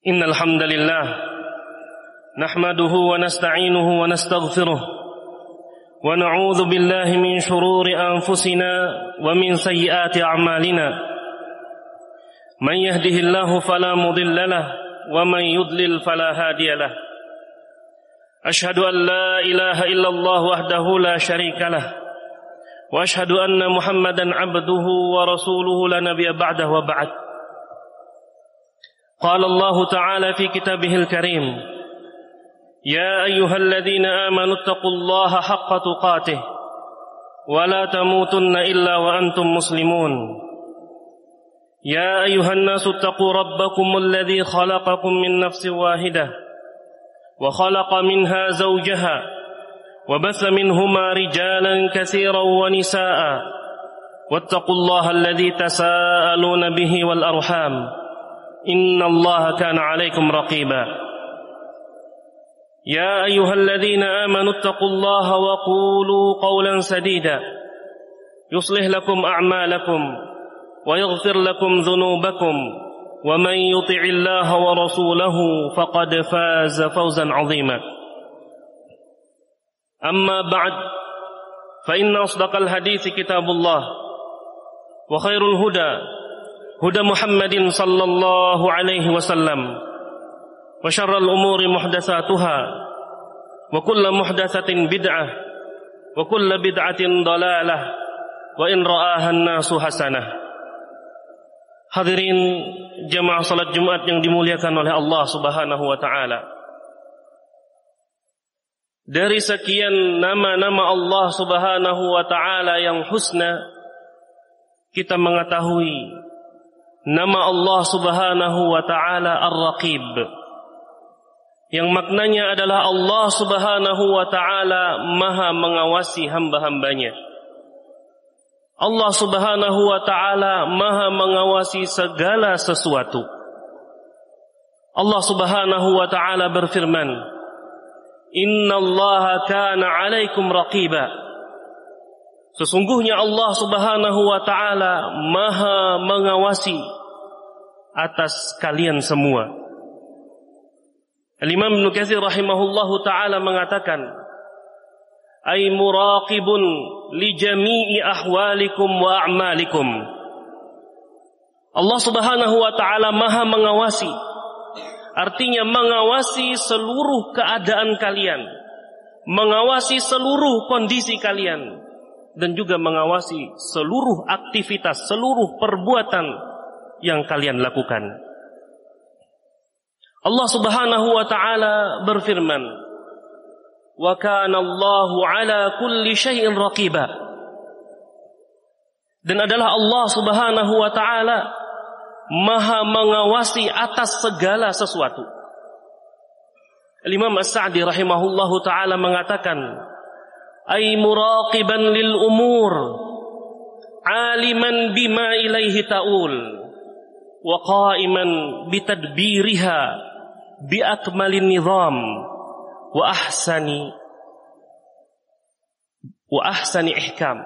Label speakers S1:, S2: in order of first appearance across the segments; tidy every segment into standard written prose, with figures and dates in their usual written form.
S1: Innal hamdalillah nahmaduhu wa nasta'inuhu wa nastaghfiruh wa na'udzu billahi min shururi anfusina wa min sayyiati a'malina. Man yahdihillahu fala mudilla lahu wa man yudlil fala hadiya lahu. Ashhadu an la ilaha illallah wahdahu la syarika lahu wa ashhadu anna Muhammadan 'abduhu wa rasuluhu la nabiyya ba'dahu wa ba'd. قال الله تعالى في كتابه الكريم يا أيها الذين آمنوا اتقوا الله حق تقاته ولا تموتن إلا وأنتم مسلمون يا أيها الناس اتقوا ربكم الذي خلقكم من نفس واحدة وخلق منها زوجها وبث منهما رجالا كثيرا ونساء واتقوا الله الذي تساءلون به والأرحام إن الله كان عليكم رقيبا يا أيها الذين آمنوا اتقوا الله وقولوا قولا سديدا يصلح لكم أعمالكم ويغفر لكم ذنوبكم ومن يطع الله ورسوله فقد فاز فوزا عظيما أما بعد فإن أصدق الحديث كتاب الله وخير الهدى هدى محمد صلى الله عليه وسلم وشر الأمور محدثاتها وكل محدثة بدعة وكل بدعة ضلالة وإن رآها الناس حسنة. Hadirin jamaah salat Jumat yang dimuliakan oleh Allah Subhanahu wa taala. Dari sekian nama-nama Allah Subhanahu wa taala yang husna, kita mengetahui nama Allah Subhanahu wa ta'ala Ar-Raqib, yang maknanya adalah Allah Subhanahu wa ta'ala maha mengawasi hamba-hambanya. Allah Subhanahu wa ta'ala maha mengawasi segala sesuatu. Allah Subhanahu wa ta'ala berfirman, Innallaha kana 'alaikum raqiba. Sesungguhnya Allah Subhanahu wa ta'ala maha mengawasi atas kalian semua. Al-Imam Ibnu Katsir rahimahullahu ta'ala mengatakan, ay muraqibun li jami'i ahwalikum wa a'malikum. Allah Subhanahu wa ta'ala maha mengawasi, artinya mengawasi seluruh keadaan kalian, mengawasi seluruh kondisi kalian, dan juga mengawasi seluruh aktivitas, seluruh perbuatan yang kalian lakukan. Allah Subhanahu wa ta'ala berfirman, wa kana Allahu ala kulli syai'in raqiba. Dan adalah Allah Subhanahu wa ta'ala maha mengawasi atas segala sesuatu. Imam As-Sa'di rahimahullahu ta'ala mengatakan, ay muraqiban lil umur, aliman bima ilaihi ta'ul, wa qa'iman bitadbiriha bi akmalin nizam wa ahsani ihkam.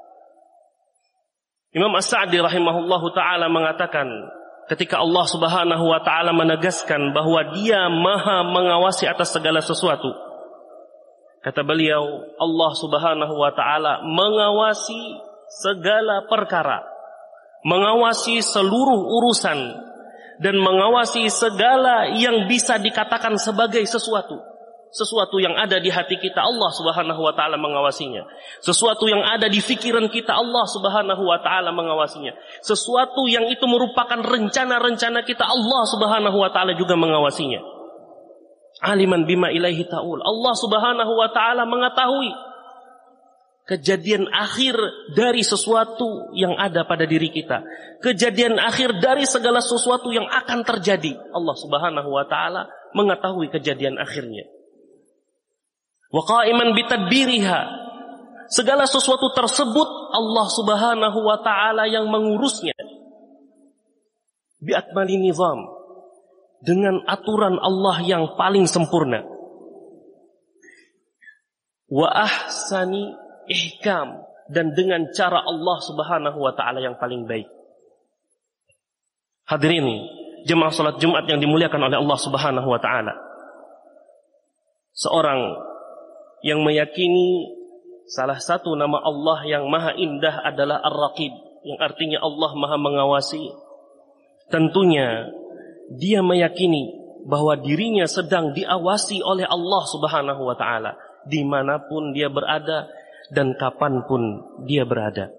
S1: Imam As-Sa'di rahimahullahu ta'ala mengatakan, ketika Allah Subhanahu wa ta'ala menegaskan bahwa Dia maha mengawasi atas segala sesuatu, kata beliau, Allah Subhanahu wa ta'ala mengawasi segala perkara, mengawasi seluruh urusan, dan mengawasi segala yang bisa dikatakan sebagai sesuatu yang ada di hati kita. Allah Subhanahu wa ta'ala mengawasinya. Sesuatu yang ada di fikiran kita, Allah Subhanahu wa ta'ala mengawasinya. Sesuatu yang itu merupakan rencana-rencana kita, Allah Subhanahu wa ta'ala juga mengawasinya. Aliman bima ilaihi ta'ul, Allah Subhanahu wa ta'ala mengetahui kejadian akhir dari sesuatu yang ada pada diri kita, kejadian akhir dari segala sesuatu yang akan terjadi. Allah Subhanahu wa ta'ala mengetahui kejadian akhirnya. Wa qa'iman bitadbiriha, segala sesuatu tersebut Allah Subhanahu wa ta'ala yang mengurusnya. Bi akmali nizam, dengan aturan Allah yang paling sempurna. Wa ahsani ihkam, dan dengan cara Allah Subhanahu wa ta'ala yang paling baik. Hadirin jemaah salat Jumat yang dimuliakan oleh Allah Subhanahu wa taala. Seorang yang meyakini salah satu nama Allah yang maha indah adalah Ar-Raqib, yang artinya Allah maha mengawasi. Tentunya dia meyakini bahwa dirinya sedang diawasi oleh Allah Subhanahu wa taala dimanapun dia berada dan kapanpun dia berada.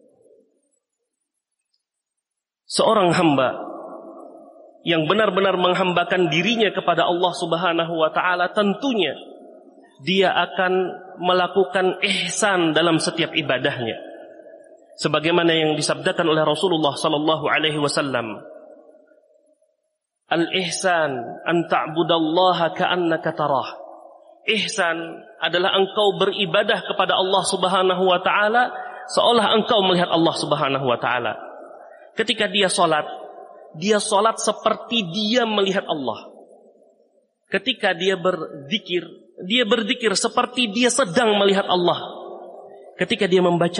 S1: Seorang hamba yang benar-benar menghambakan dirinya kepada Allah Subhanahu wa taala, tentunya dia akan melakukan ihsan dalam setiap ibadahnya. Sebagaimana yang disabdakan oleh Rasulullah sallallahu alaihi wasallam, al-ihsan an ta'budallaha ka'annaka tarah. Ihsan adalah engkau beribadah kepada Allah Subhanahu wa taala seolah engkau melihat Allah Subhanahu wa taala. Ketika dia salat seperti dia melihat Allah. Ketika dia berzikir seperti dia sedang melihat Allah. Ketika dia membaca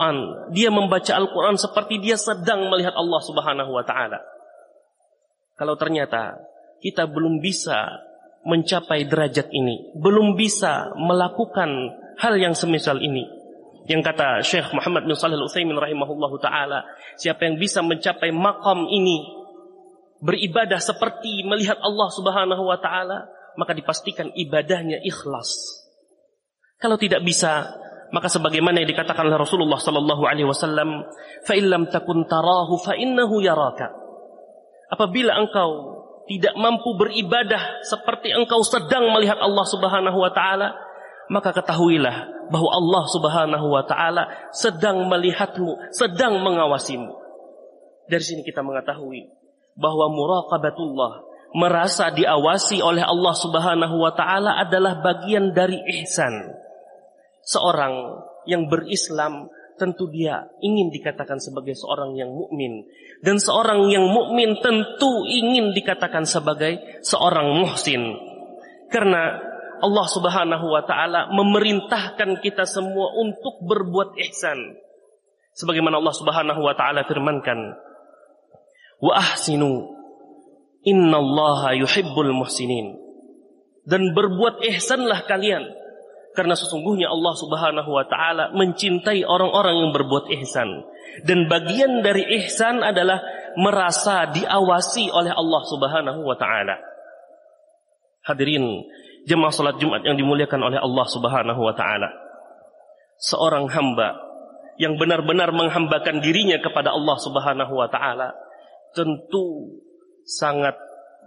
S1: Al-Quran seperti dia sedang melihat Allah Subhanahu wa ta'ala. Kalau ternyata kita belum bisa mencapai derajat ini, belum bisa melakukan hal yang semisal ini, yang kata Syekh Muhammad bin Shalih Al-Utsaimin rahimahullahu ta'ala, siapa yang bisa mencapai maqam ini, beribadah seperti melihat Allah Subhanahu wa ta'ala, maka dipastikan ibadahnya ikhlas. Kalau tidak bisa, maka sebagaimana yang dikatakan oleh Rasulullah sallallahu alaihi wasallam, fa illam takun tarahu fa innahu yaraka. Apabila engkau tidak mampu beribadah seperti engkau sedang melihat Allah Subhanahu wa ta'ala, maka ketahuilah bahwa Allah Subhanahu wa ta'ala sedang melihatmu, sedang mengawasimu. Dari sini kita mengetahui bahwa muraqabatullah, merasa diawasi oleh Allah Subhanahu wa ta'ala, adalah bagian dari ihsan. Seorang yang berislam tentu dia ingin dikatakan sebagai seorang yang mukmin, dan seorang yang mukmin tentu ingin dikatakan sebagai seorang muhsin. Karena Allah Subhanahu wa ta'ala memerintahkan kita semua untuk berbuat ihsan. Sebagaimana Allah Subhanahu wa ta'ala firmankan, wa ahsinu innallaha yuhibbul muhsinin. Dan berbuat ihsanlah kalian, karena sesungguhnya Allah Subhanahu wa ta'ala mencintai orang-orang yang berbuat ihsan. Dan bagian dari ihsan adalah merasa diawasi oleh Allah Subhanahu wa ta'ala. Hadirin jemaah salat Jumat yang dimuliakan oleh Allah Subhanahu wa ta'ala, seorang hamba yang benar-benar menghambakan dirinya kepada Allah Subhanahu wa ta'ala tentu sangat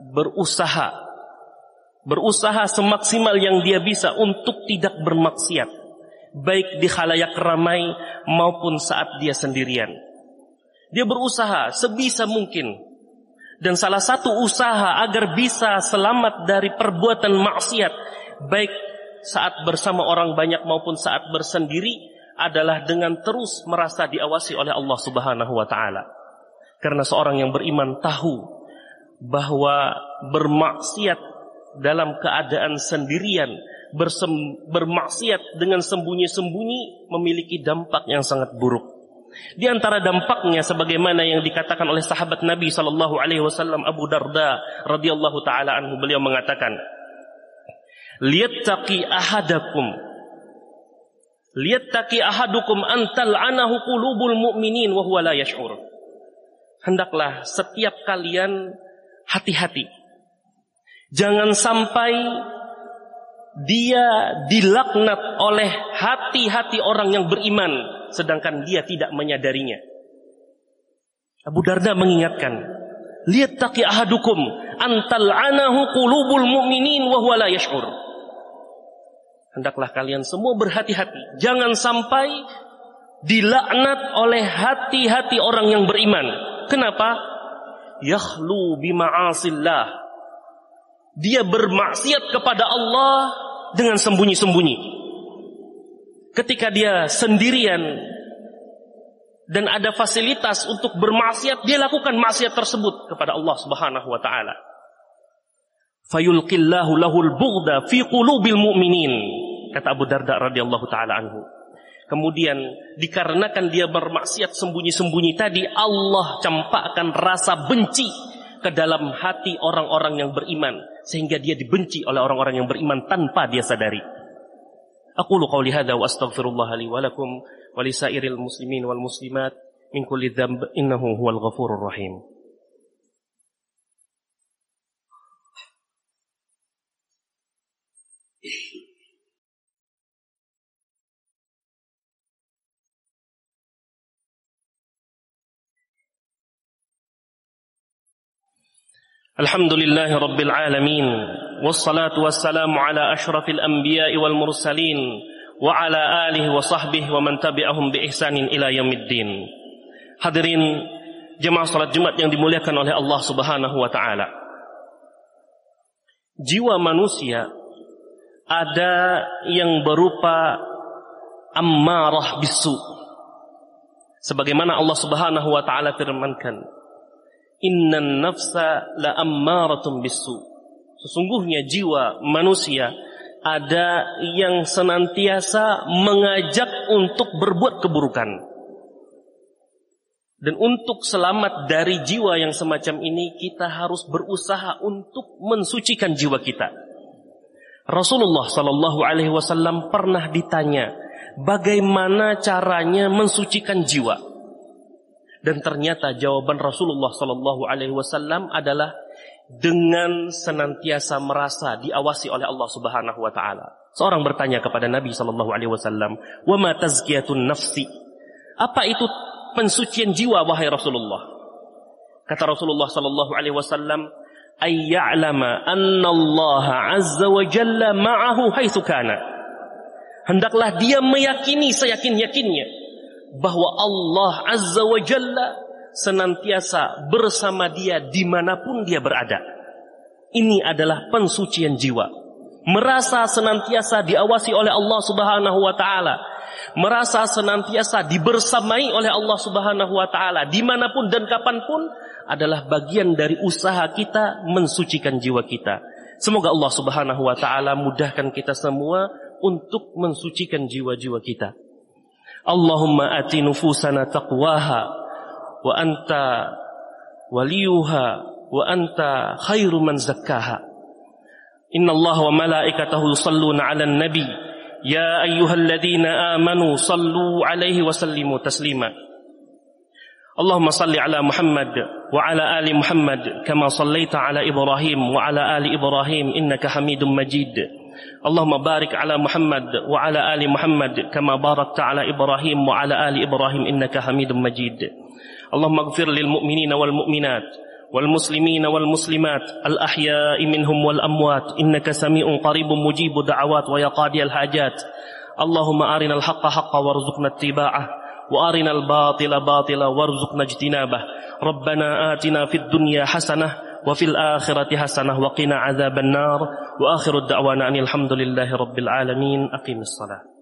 S1: berusaha semaksimal yang dia bisa untuk tidak bermaksiat, baik di khalayak ramai maupun saat dia sendirian. Dia berusaha sebisa mungkin. Dan salah satu usaha agar bisa selamat dari perbuatan maksiat, baik saat bersama orang banyak maupun saat bersendiri, adalah dengan terus merasa diawasi oleh Allah Subhanahu wa ta'ala. Karena seorang yang beriman tahu bahwa bermaksiat dalam keadaan sendirian, bermaksiat dengan sembunyi-sembunyi memiliki dampak yang sangat buruk. Di antara dampaknya sebagaimana yang dikatakan oleh sahabat Nabi sallallahu alaihi wasallam Abu Darda radhiyallahu taala anhu, beliau mengatakan, liyattaqi ahadukum antal anahu qulubul mu'minin wa huwa la yash'ur. Hendaklah setiap kalian hati-hati, jangan sampai dia dilaknat oleh hati-hati orang yang beriman sedangkan dia tidak menyadarinya. Abu Darda mengingatkan, liyattaqi ahadukum antal anahu qulubul mu'minin wa huwa la yash'ur. Hendaklah kalian semua berhati-hati, jangan sampai dilaknat oleh hati-hati orang yang beriman. Kenapa? Yakhlu bima'asillah. Dia bermaksiat kepada Allah dengan sembunyi-sembunyi. Ketika dia sendirian dan ada fasilitas untuk bermaksiat, dia lakukan maksiat tersebut kepada Allah Subhanahu wa ta'ala. Fayulqillahu lahul bughda fi qulubil mu'minin, kata Abu Darda radhiyallahu ta'ala anhu. Kemudian dikarenakan dia bermaksiat sembunyi-sembunyi tadi, Allah campakkan rasa benci ke dalam hati orang-orang yang beriman, sehingga dia dibenci oleh orang-orang yang beriman tanpa dia sadari. Aqulu qawli hadza wa astaghfirullah li wa lakum wa lisairil muslimin wal muslimat min kulli dhanb innahu huwal ghafurur rahim. Alhamdulillahi rabbil alamin, wassalatu wassalamu ala ashrafil anbiya'i wal mursalin wa ala alihi wa sahbihi wa man tabi'ahum bi ihsanin ila yaumiddin. Hadirin jemaah salat Jumat yang dimuliakan oleh Allah Subhanahu wa taala. Jiwa manusia ada yang berupa ammarah bisu. Sebagaimana Allah Subhanahu wa taala firmankan, innan nafsa la ammaratun bisu. Sesungguhnya jiwa manusia ada yang senantiasa mengajak untuk berbuat keburukan. Dan untuk selamat dari jiwa yang semacam ini, kita harus berusaha untuk mensucikan jiwa kita. Rasulullah sallallahu alaihi wasallam pernah ditanya, bagaimana caranya mensucikan jiwa? Dan ternyata jawaban Rasulullah sallallahu alaihi wasallam adalah dengan senantiasa merasa diawasi oleh Allah Subhanahu wa taala. Seorang bertanya kepada Nabi sallallahu alaihi wasallam, "Wa ma tazkiyatun nafsi?" Apa itu pensucian jiwa wahai Rasulullah? Kata Rasulullah sallallahu alaihi wasallam, "Ay ya'lama anna Allah azza wa jalla ma'ahu haitsu kana." Hendaklah dia meyakini seyakin-yakinnya bahwa Allah Azza wa Jalla senantiasa bersama dia dimanapun dia berada. Ini adalah pensucian jiwa. Merasa senantiasa diawasi oleh Allah Subhanahu wa ta'ala. Merasa senantiasa dibersamai oleh Allah Subhanahu wa ta'ala dimanapun dan kapanpun adalah bagian dari usaha kita mensucikan jiwa kita. Semoga Allah Subhanahu wa ta'ala mudahkan kita semua untuk mensucikan jiwa-jiwa kita. Allahumma ati nufusana taqwaha wa anta waliyuha wa anta khairu man zakkaha. Inna Allah wa malaikatahu yusalluna 'alan nabi ya ayyuhalladzina amanu sallu 'alaihi wa sallimu taslima. Allahumma salli 'ala Muhammad wa 'ala ali Muhammad kama sallaita 'ala Ibrahim wa 'ala ali Ibrahim innaka Hamidum Majid. Allahumma barik ala Muhammad wa ala ali Muhammad kama barakta ala Ibrahim wa ala ali Ibrahim innaka Hamidum Majid. Allahumma ighfir lil mu'minina wal mu'minat wal muslimina wal muslimat al ahya'i minhum wal amwat innaka sami'un qaribun mujibud da'awat wa yaqadiyal hajat. Allahumma arinal haqqa haqqan warzuqna ittiba'ah wa arinal batila batila warzuqna ijtinabah. Rabbana atina fid dunya hasanah wa fil akhirati hasanah wa qina adzaban nar wa akhiru da'wana alhamdulillahi rabbil alamin. Aqimis shalah.